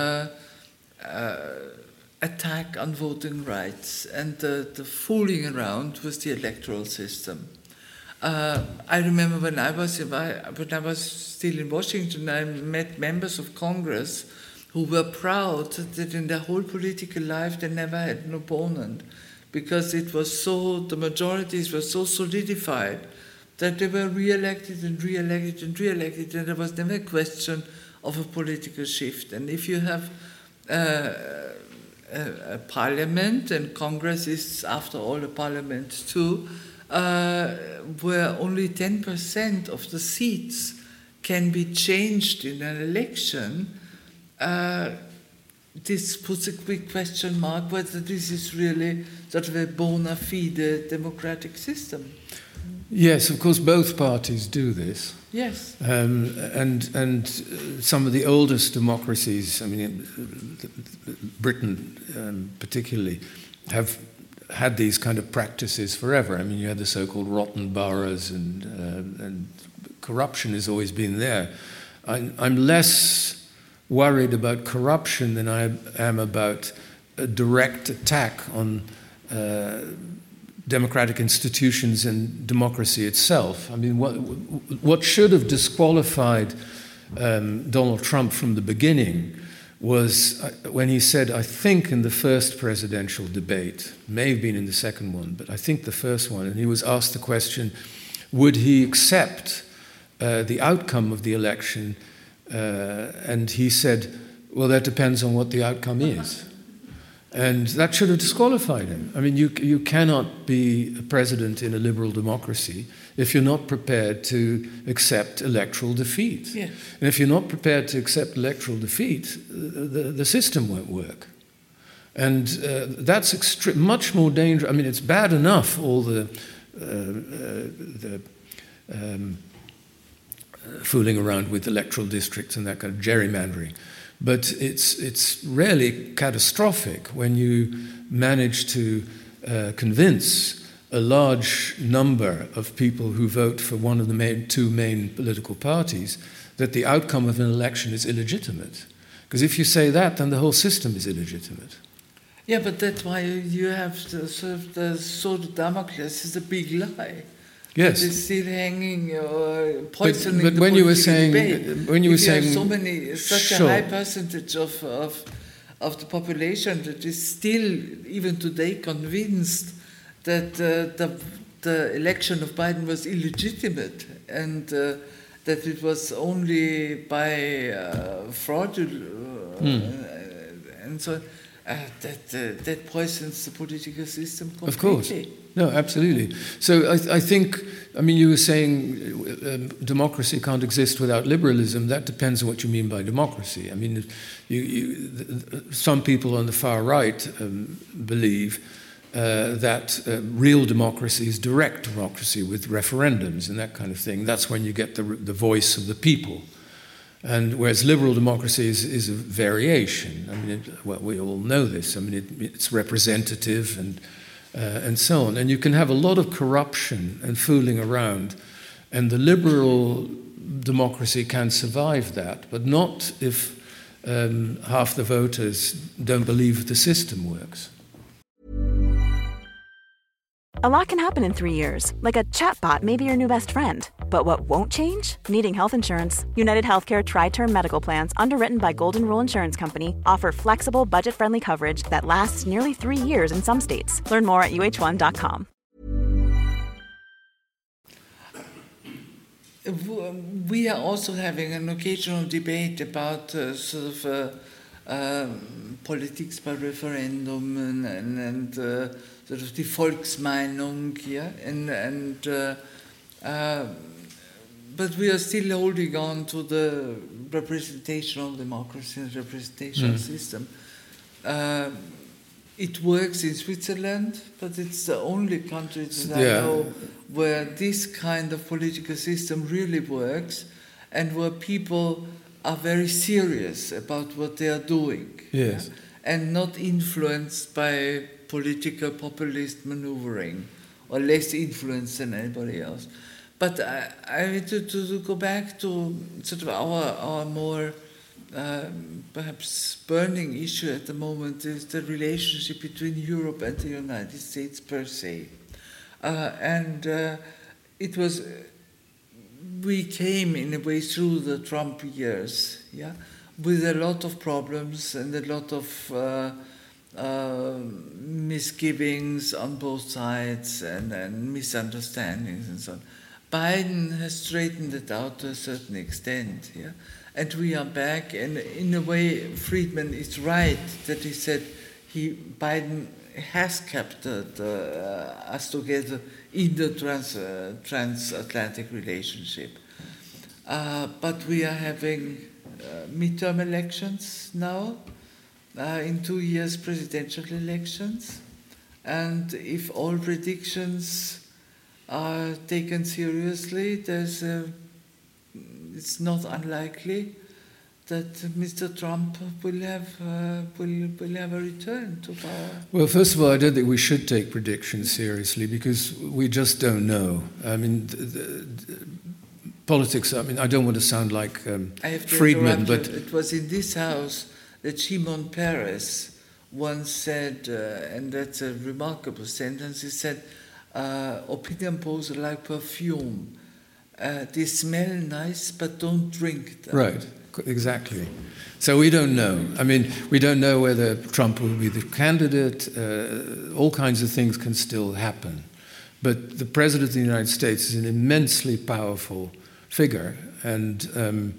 attack on voting rights and the fooling around with the electoral system. I remember when I was still in Washington, I met members of Congress who were proud that in their whole political life they never had an opponent, because the majorities were so solidified that they were re-elected and re-elected and re-elected, and there was never a question of a political shift. And if you have a parliament, and Congress is, after all, a parliament too, where only 10% of the seats can be changed in an election, this puts a big question mark whether this is really sort of a bona fide democratic system. Yes, of course, both parties do this. Yes. And some of the oldest democracies, I mean, Britain particularly, have had these kind of practices forever. I mean, you had the so-called rotten boroughs, and corruption has always been there. I'm less worried about corruption than I am about a direct attack on democratic institutions and democracy itself. I mean, what should have disqualified Donald Trump from the beginning was when he said, I think in the first presidential debate, may have been in the second one, but I think the first one, and he was asked the question, would he accept the outcome of the election? And he said, well, that depends on what the outcome is. And that should have disqualified him. I mean, you cannot be a president in a liberal democracy if you're not prepared to accept electoral defeat. Yeah. And if you're not prepared to accept electoral defeat, the system won't work. And that's much more dangerous. I mean, it's bad enough, all the fooling around with electoral districts and that kind of gerrymandering. But it's really catastrophic when you manage to convince a large number of people who vote for one of the two main political parties that the outcome of an election is illegitimate. Because if you say that, then the whole system is illegitimate. Yeah, but that's why you have the sword of Damocles is a big lie. Yes, it's still hanging or poisoning but the when you were saying, saying, when you were saying, such a high percentage of the population that is still even today convinced that the election of Biden was illegitimate and that it was only by fraud and so on. That poisons the political system completely. Of course. No, absolutely. So I think, I mean, you were saying democracy can't exist without liberalism. That depends on what you mean by democracy. I mean, some people on the far right believe that real democracy is direct democracy with referendums and that kind of thing. That's when you get the voice of the people. And whereas liberal democracy is a variation. I mean, we all know this. I mean, it's representative and so on. And you can have a lot of corruption and fooling around, and the liberal democracy can survive that, but not if half the voters don't believe the system works. A lot can happen in 3 years, like a chatbot may be your new best friend. But what won't change? Needing health insurance. United Healthcare Tri-Term Medical Plans, underwritten by Golden Rule Insurance Company, offer flexible, budget-friendly coverage that lasts nearly 3 years in some states. Learn more at uh1.com. We are also having an occasional debate about politics by referendum and sort of die Volksmeinung, yeah, but we are still holding on to the representational democracy and representational system. It works in Switzerland, but it's the only country that I know where this kind of political system really works and where people are very serious about what they are doing. Yes. And not influenced by political populist maneuvering, or less influenced than anybody else. But I want to go back to sort of our more perhaps burning issue at the moment is the relationship between Europe and the United States per se. It was, we came in a way through the Trump years, yeah, with a lot of problems and a lot of misgivings on both sides and misunderstandings and so on. Biden has straightened it out to a certain extent, yeah, and we are back. And in a way, Friedman is right that he said Biden has kept us together in the transatlantic relationship. But we are having midterm elections now, in 2 years presidential elections, and if all predictions are taken seriously, it's not unlikely that Mr. Trump will have a return to power. Well, first of all, I don't think we should take predictions seriously because we just don't know. I mean, politics, I mean, I don't want to sound like Friedman, but it was in this house that Shimon Peres once said, and that's a remarkable sentence, he said, opinion polls are like perfume. They smell nice, but don't drink them. Right, exactly. So we don't know. I mean, we don't know whether Trump will be the candidate. All kinds of things can still happen. But the President of the United States is an immensely powerful figure, and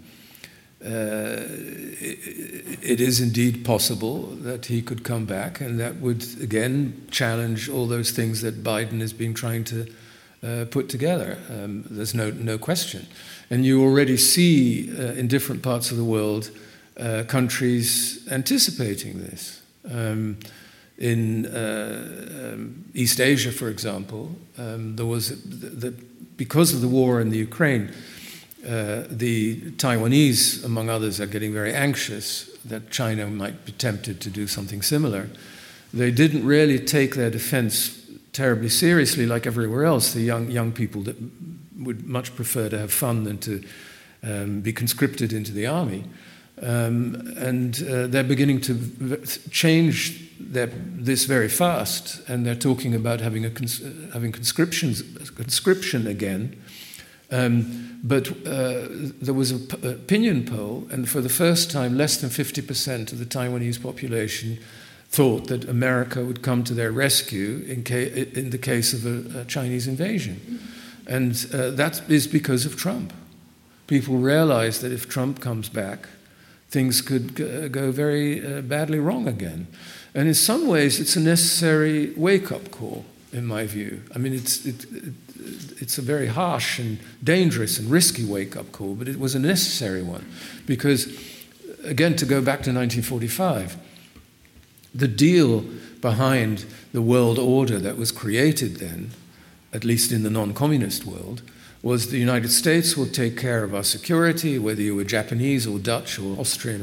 it is indeed possible that he could come back, and that would, again, challenge all those things that Biden has been trying to put together. There's no question. And you already see in different parts of the world countries anticipating this. In East Asia, for example, there was because of the war in the Ukraine, the Taiwanese, among others, are getting very anxious that China might be tempted to do something similar. They didn't really take their defense terribly seriously like everywhere else. The young people that would much prefer to have fun than to be conscripted into the army. And they're beginning to change this very fast, and they're talking about having conscription again. But there was an opinion poll, and for the first time, less than 50% of the Taiwanese population thought that America would come to their rescue in the case of a Chinese invasion. And that is because of Trump. People realize that if Trump comes back, things could go very badly wrong again. And in some ways, it's a necessary wake-up call, in my view. I mean, it's a very harsh and dangerous and risky wake-up call, but it was a necessary one. Because, again, to go back to 1945, the deal behind the world order that was created then, at least in the non-communist world, was the United States will take care of our security, whether you were Japanese or Dutch or Austrian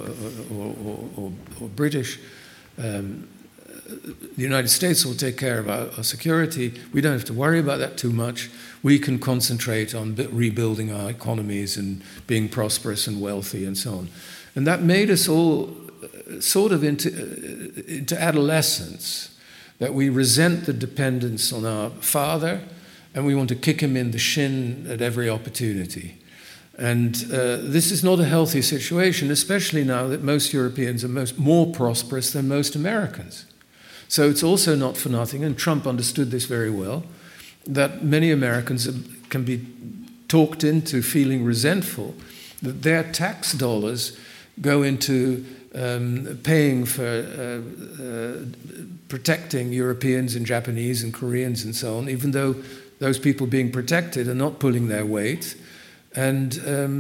or British. The United States will take care of our security. We don't have to worry about that too much. We can concentrate on rebuilding our economies and being prosperous and wealthy and so on. And that made us all sort of into adolescence, that we resent the dependence on our father and we want to kick him in the shin at every opportunity. And this is not a healthy situation, especially now that most Europeans are more prosperous than most Americans. So it's also not for nothing, and Trump understood this very well, that many Americans can be talked into feeling resentful that their tax dollars go into paying for protecting Europeans and Japanese and Koreans and so on, even though those people being protected are not pulling their weight and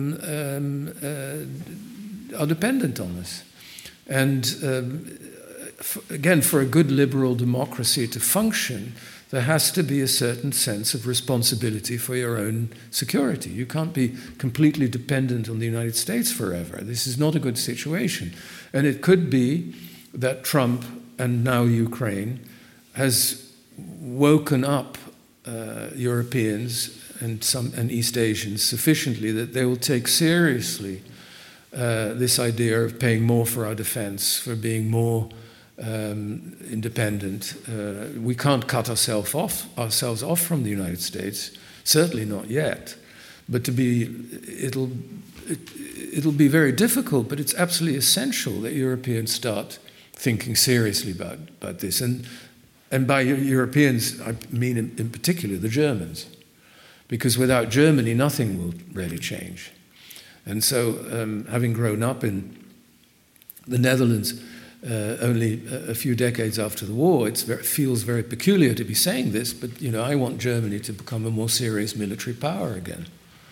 are dependent on us. And again, for a good liberal democracy to function, there has to be a certain sense of responsibility for your own security. You can't be completely dependent on the United States forever. This is not a good situation. And it could be that Trump, and now Ukraine, has woken up Europeans and East Asians sufficiently that they will take seriously this idea of paying more for our defense, for being more independent. We can't cut ourselves off from the United States, certainly not yet. But it'll be very difficult, but it's absolutely essential that Europeans start thinking seriously about this. And by Europeans, I mean in particular the Germans, because without Germany, nothing will really change. And so, having grown up in the Netherlands only a few decades after the war, it feels very peculiar to be saying this, but I want Germany to become a more serious military power again.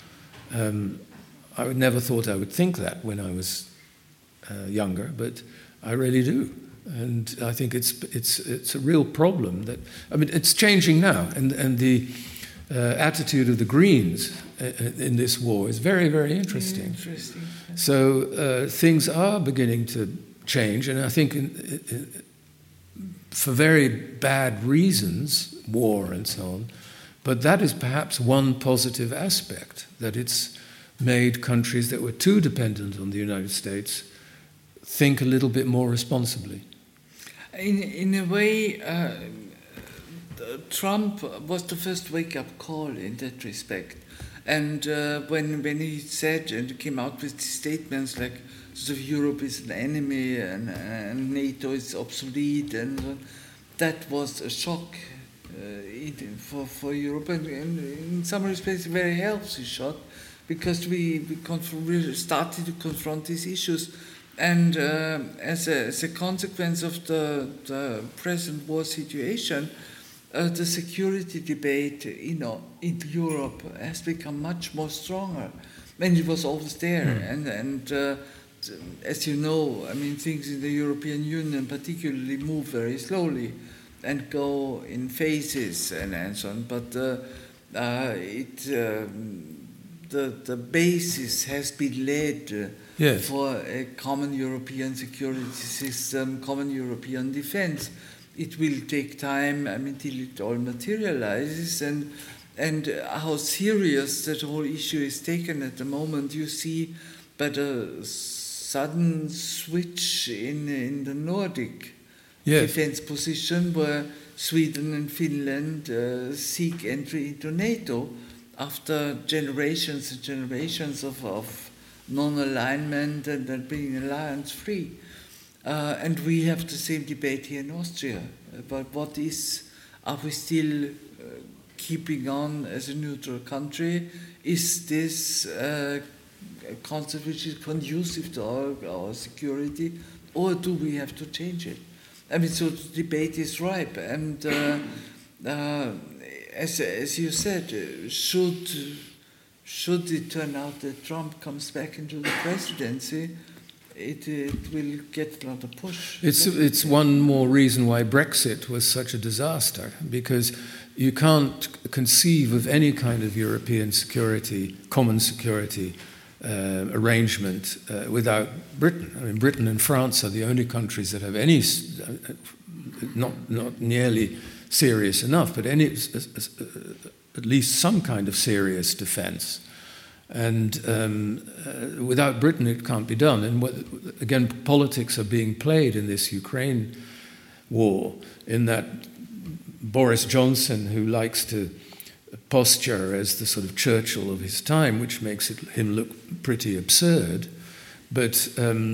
I never thought I would think that when I was younger, but I really do. And I think it's a real problem it's changing now, and the attitude of the Greens in this war is very, very interesting. So things are beginning to change, and I think for very bad reasons, war and so on, but that is perhaps one positive aspect, that it's made countries that were too dependent on the United States think a little bit more responsibly. In a way, Trump was the first wake-up call in that respect. And when he said and came out with statements like sort of Europe is an enemy and NATO is obsolete, and that was a shock for Europe, and in some respects a very healthy shock, because we started to confront these issues. And as a consequence of the present war situation, the security debate, in Europe has become much more stronger. And it was always there. And as you know, things in the European Union particularly move very slowly and go in phases and so on. But the basis has been laid for a common European security system, common European defense. It will take time, till it all materializes, and how serious that whole issue is taken at the moment. You see, but a sudden switch in the Nordic defense position, where Sweden and Finland seek entry into NATO after generations and generations of non-alignment and being alliance-free. And we have the same debate here in Austria about are we still keeping on as a neutral country? Is this a concept which is conducive to our security, or do we have to change it? So the debate is ripe, and as you said, should it turn out that Trump comes back into the presidency, it will get a lot of push. It's one more reason why Brexit was such a disaster, because you can't conceive of any kind of European security, common security arrangement without Britain. Britain and France are the only countries that have any, not nearly serious enough, but at least some kind of serious defense. And without Britain, it can't be done. And again, politics are being played in this Ukraine war, in that Boris Johnson, who likes to posture as the sort of Churchill of his time, which makes him look pretty absurd. But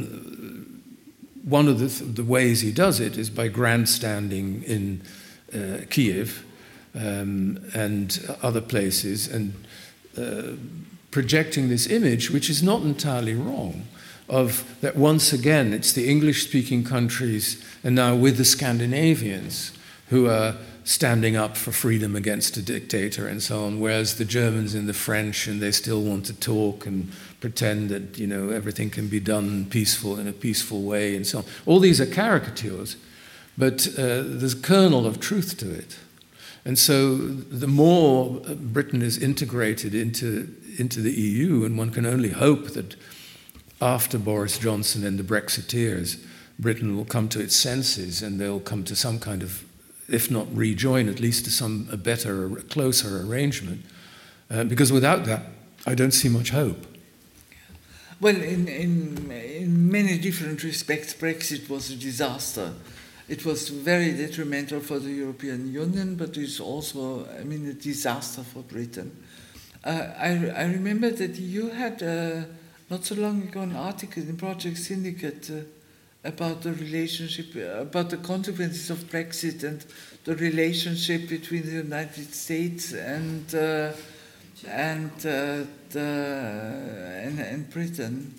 one of the ways he does it is by grandstanding in Kiev and other places and projecting this image, which is not entirely wrong, of that once again it's the English-speaking countries and now with the Scandinavians who are standing up for freedom against a dictator and so on, whereas the Germans and the French, and they still want to talk and pretend that, you know, everything can be done in a peaceful way and so on. All these are caricatures, but there's a kernel of truth to it. And so the more Britain is integrated into the EU, and one can only hope that after Boris Johnson and the Brexiteers, Britain will come to its senses and they'll come to some kind of, if not rejoin, at least to a better, closer arrangement. Because without that, I don't see much hope. Well, in many different respects, Brexit was a disaster. It was very detrimental for the European Union, but it's also, a disaster for Britain. I remember that you had, not so long ago, an article in Project Syndicate about the relationship, about the consequences of Brexit and the relationship between the United States and Britain.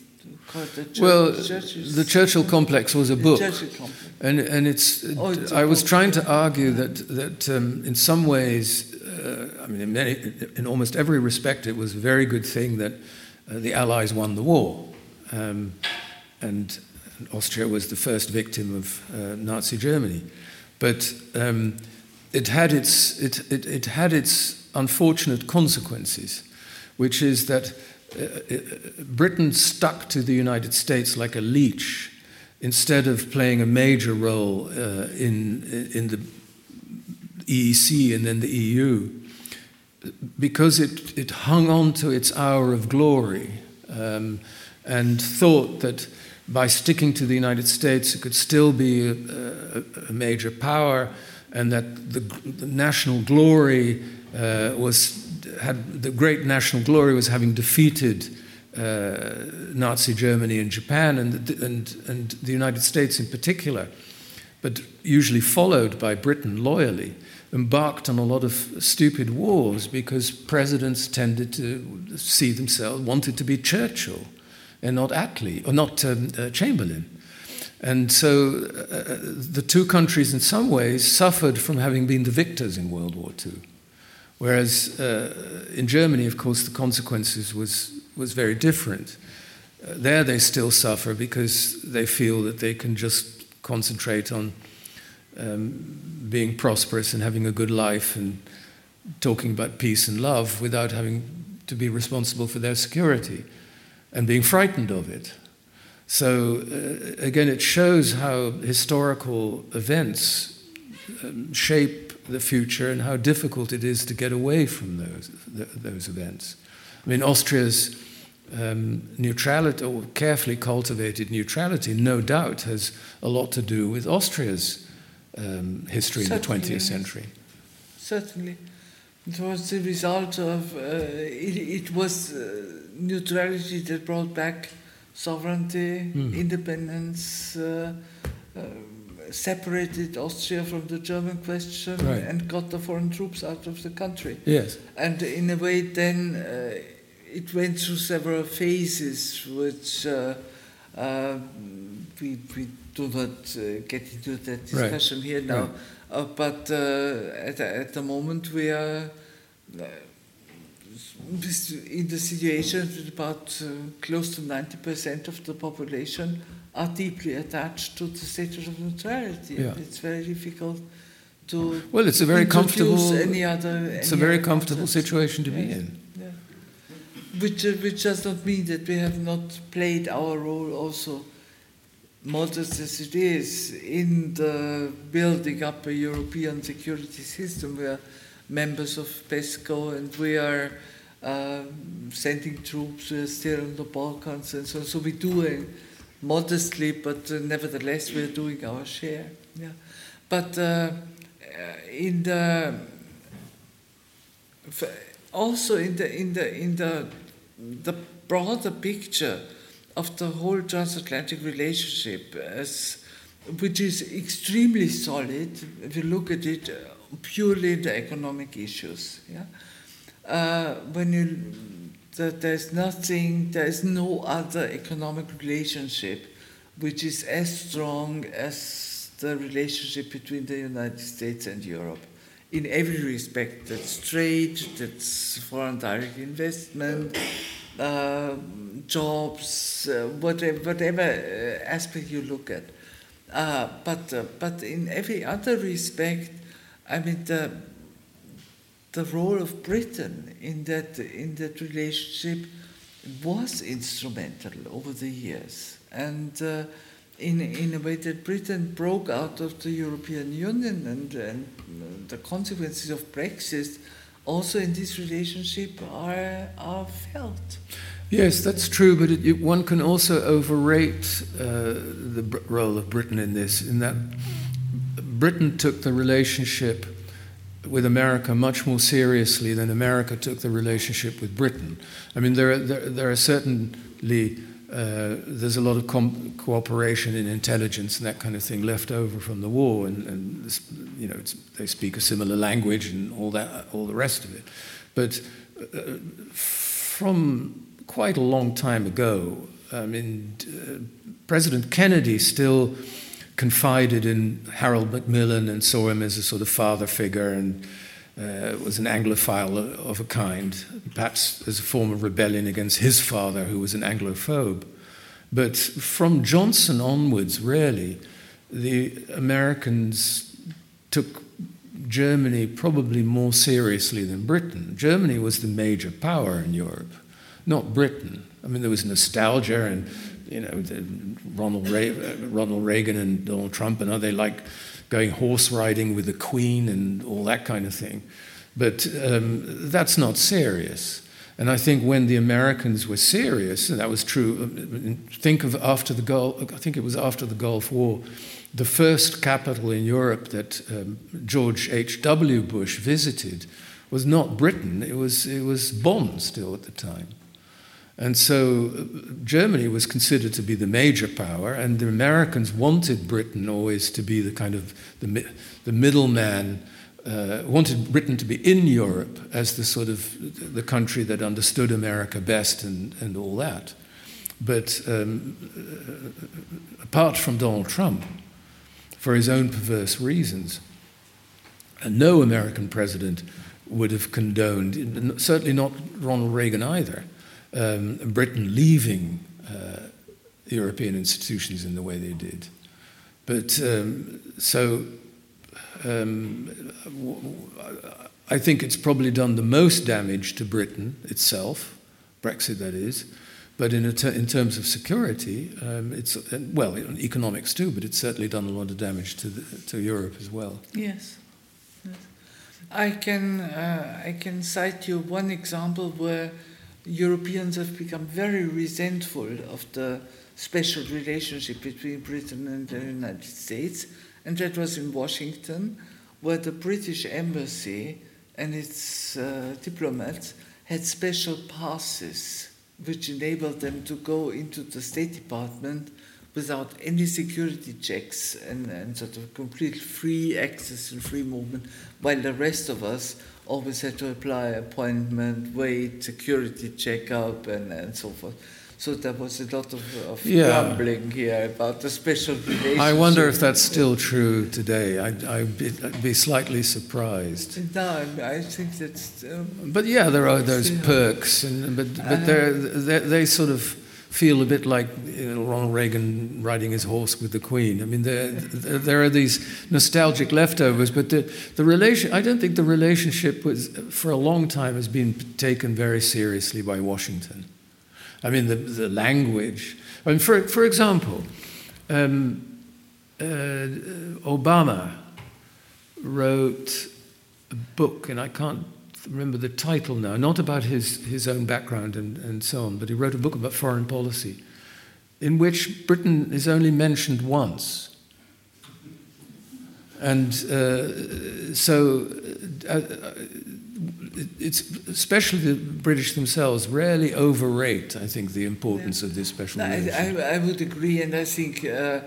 The Churchill Complex was a book, and it's. I was trying to argue that in some ways, in almost every respect, it was a very good thing that the Allies won the war, and Austria was the first victim of Nazi Germany, but it had its unfortunate consequences, which is that Britain stuck to the United States like a leech instead of playing a major role in the EEC and then the EU, because it hung on to its hour of glory and thought that by sticking to the United States it could still be a major power, and that the national glory the great national glory was having defeated Nazi Germany and Japan and the United States in particular, but usually followed by Britain loyally, embarked on a lot of stupid wars because presidents tended to see themselves, wanted to be Churchill and not Attlee, or not Chamberlain. And so the two countries in some ways suffered from having been the victors in World War II. Whereas in Germany, of course, the consequences was very different. There they still suffer because they feel that they can just concentrate on being prosperous and having a good life and talking about peace and love without having to be responsible for their security and being frightened of it. So again, it shows how historical events shape the future and how difficult it is to get away from those events. Austria's neutrality, or carefully cultivated neutrality, no doubt has a lot to do with Austria's history in the 20th century. Certainly. It was the result of, it was neutrality that brought back sovereignty, independence, separated Austria from the German question, right, and got the foreign troops out of the country. Yes. And in a way then it went through several phases, which we do not get into that discussion right here now. Right. But at the moment we are in the situation that about close to 90% of the population are deeply attached to the status of neutrality. Yeah. It's very difficult to. Well, it's a very comfortable. It's a very comfortable situation to be in. Yeah. Which does not mean that we have not played our role also, modest as it is, in the building up a European security system. We are members of PESCO, and we are sending troops. We are still in the Balkans, and so we do modestly, but nevertheless we are doing our share. Yeah. But in the also in the broader picture of the whole transatlantic relationship, which is extremely solid if you look at it purely in the economic issues. Yeah? There is no other economic relationship which is as strong as the relationship between the United States and Europe. In every respect, that's trade, that's foreign direct investment, jobs, whatever aspect you look at. But in every other respect, I mean, the role of Britain in that relationship was instrumental over the years, and in a way that Britain broke out of the European Union, and the consequences of Brexit also in this relationship are felt. Yes, that's true, but one can also overrate the role of Britain in this, in that Britain took the relationship with America much more seriously than America took the relationship with Britain. I mean, there are certainly, there's a lot of cooperation in intelligence and that kind of thing left over from the war, and you know, they speak a similar language and all the rest of it. But from quite a long time ago, I mean, President Kennedy still confided in Harold Macmillan and saw him as a sort of father figure, and was an Anglophile of a kind, perhaps as a form of rebellion against his father, who was an Anglophobe. But from Johnson onwards, really, the Americans took Germany probably more seriously than Britain. Germany was the major power in Europe, not Britain. I mean, there was nostalgia, and you know, Ronald Reagan and Donald Trump and they like going horse riding with the Queen and all that kind of thing. But that's not serious. And I think when the Americans were serious, and that was true, think of after the Gulf, I think it was after the Gulf War, the first capital in Europe that George H.W. Bush visited was not Britain, it was Bonn still at the time. And so Germany was considered to be the major power, and the Americans wanted Britain always to be the kind of the middleman, wanted Britain to be in Europe as the sort of the country that understood America best and all that. But apart from Donald Trump, for his own perverse reasons, no American president would have condoned, certainly not Ronald Reagan either, Britain leaving European institutions in the way they did. But I think it's probably done the most damage to Britain itself, Brexit that is, but in terms of security, it's, well, in economics too, but it's certainly done a lot of damage to Europe as well. Yes. I can cite you one example where Europeans have become very resentful of the special relationship between Britain and the United States, and that was in Washington, where the British embassy and its diplomats had special passes which enabled them to go into the State Department without any security checks and sort of complete free access and free movement, while the rest of us always had to apply appointment, wait, security checkup, and so forth. So there was a lot of grumbling here about the special relationship. I wonder if that's still true today. I'd be slightly surprised. No, I think that's... but yeah, there are those perks, but they sort of feel a bit like Ronald Reagan riding his horse with the Queen. I mean, there are these nostalgic leftovers, but the relation. I don't think the relationship for a long time has been taken very seriously by Washington. I mean, the language. I mean, for example, Obama wrote a book, and I can't remember the title now, not about his own background and so on, but he wrote a book about foreign policy in which Britain is only mentioned once. And so it's especially the British themselves rarely overrate, I think, the importance of this special relationship. I would agree, and I think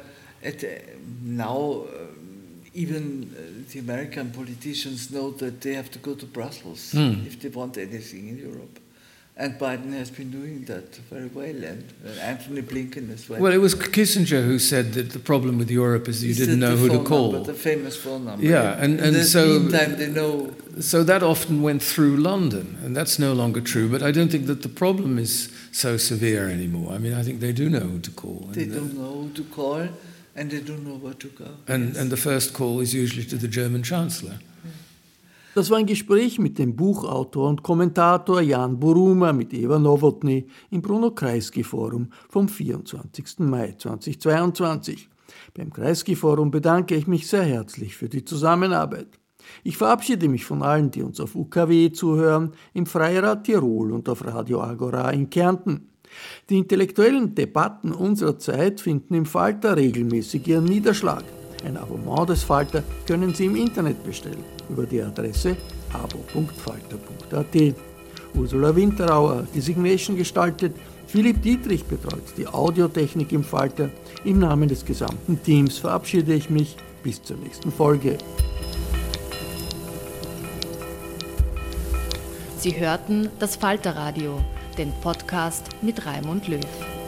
now even the American politicians know that they have to go to Brussels if they want anything in Europe. And Biden has been doing that very well, and Anthony Blinken as well. Well, it was Kissinger who said that the problem with Europe is you didn't know who to call. The famous phone number. Yeah, and so meantime they know. So that often went through London, and that's no longer true. But I don't think that the problem is so severe anymore. I mean, I think they do know who to call. They don't know who to call, and they don't know where to go. And the first call is usually to the German Chancellor. Das war ein Gespräch mit dem Buchautor und Kommentator Jan Buruma mit Eva Nowotny im Bruno Kreisky Forum vom 24. Mai 2022. Beim Kreisky Forum bedanke ich mich sehr herzlich für die Zusammenarbeit. Ich verabschiede mich von allen, die uns auf UKW zuhören, im Freirad Tirol und auf Radio Agora in Kärnten. Die intellektuellen Debatten unserer Zeit finden im Falter regelmäßig ihren Niederschlag. Ein Abonnement des Falter können Sie im Internet bestellen, über die Adresse abo.falter.at. Ursula Winterauer die Signation gestaltet, Philipp Dietrich betreut die Audiotechnik im Falter. Im Namen des gesamten Teams verabschiede ich mich. Bis zur nächsten Folge. Sie hörten das Falterradio, den Podcast mit Raimund Löw.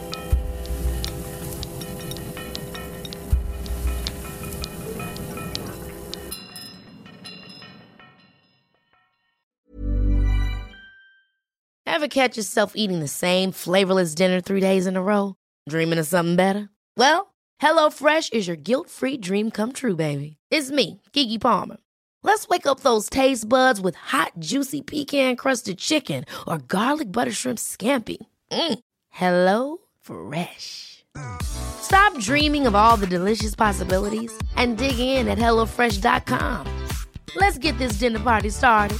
Ever catch yourself eating the same flavorless dinner 3 days in a row? Dreaming of something better? Well, HelloFresh is your guilt-free dream come true, baby. It's me, Keke Palmer. Let's wake up those taste buds with hot, juicy pecan-crusted chicken or garlic butter shrimp scampi. Hello Fresh. Stop dreaming of all the delicious possibilities and dig in at HelloFresh.com. Let's get this dinner party started.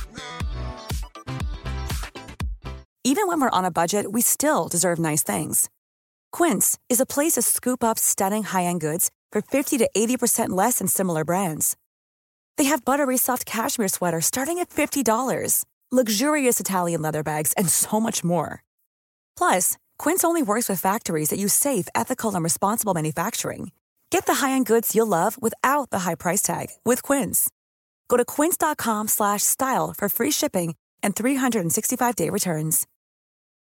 Even when we're on a budget, we still deserve nice things. Quince is a place to scoop up stunning high-end goods for 50 to 80% less than similar brands. They have buttery soft cashmere sweaters starting at $50, luxurious Italian leather bags, and so much more. Plus, Quince only works with factories that use safe, ethical, and responsible manufacturing. Get the high-end goods you'll love without the high price tag with Quince. Go to quince.com/style for free shipping and 365-day returns.